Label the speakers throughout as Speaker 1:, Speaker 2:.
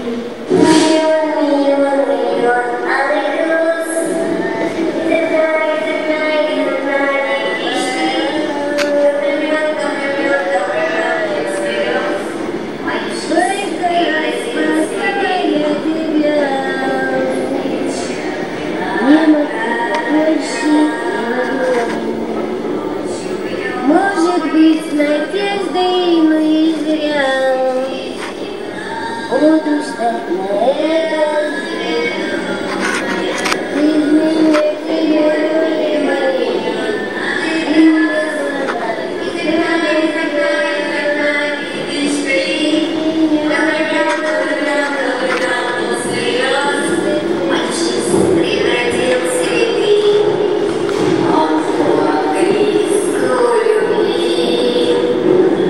Speaker 1: Может быть, с надеждой, но и зря. Буду ждать на это зря. Без меня тебе мои.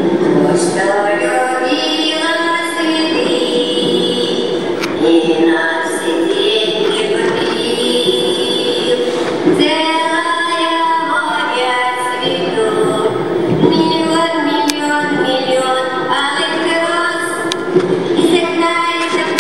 Speaker 2: И на